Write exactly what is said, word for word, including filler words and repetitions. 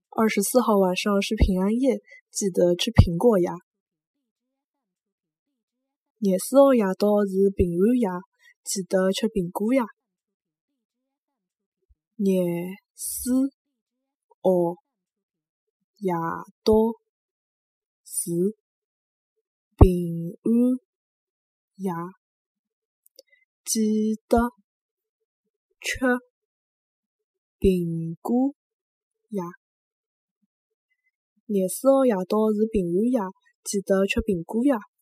二十四号晚上是平安夜，记得吃苹果呀。廿四号夜到是平安夜，记得吃苹果呀。廿四号夜到是平安夜，记得吃苹果呀。廿四号夜到是平安夜，记得吃苹果呀。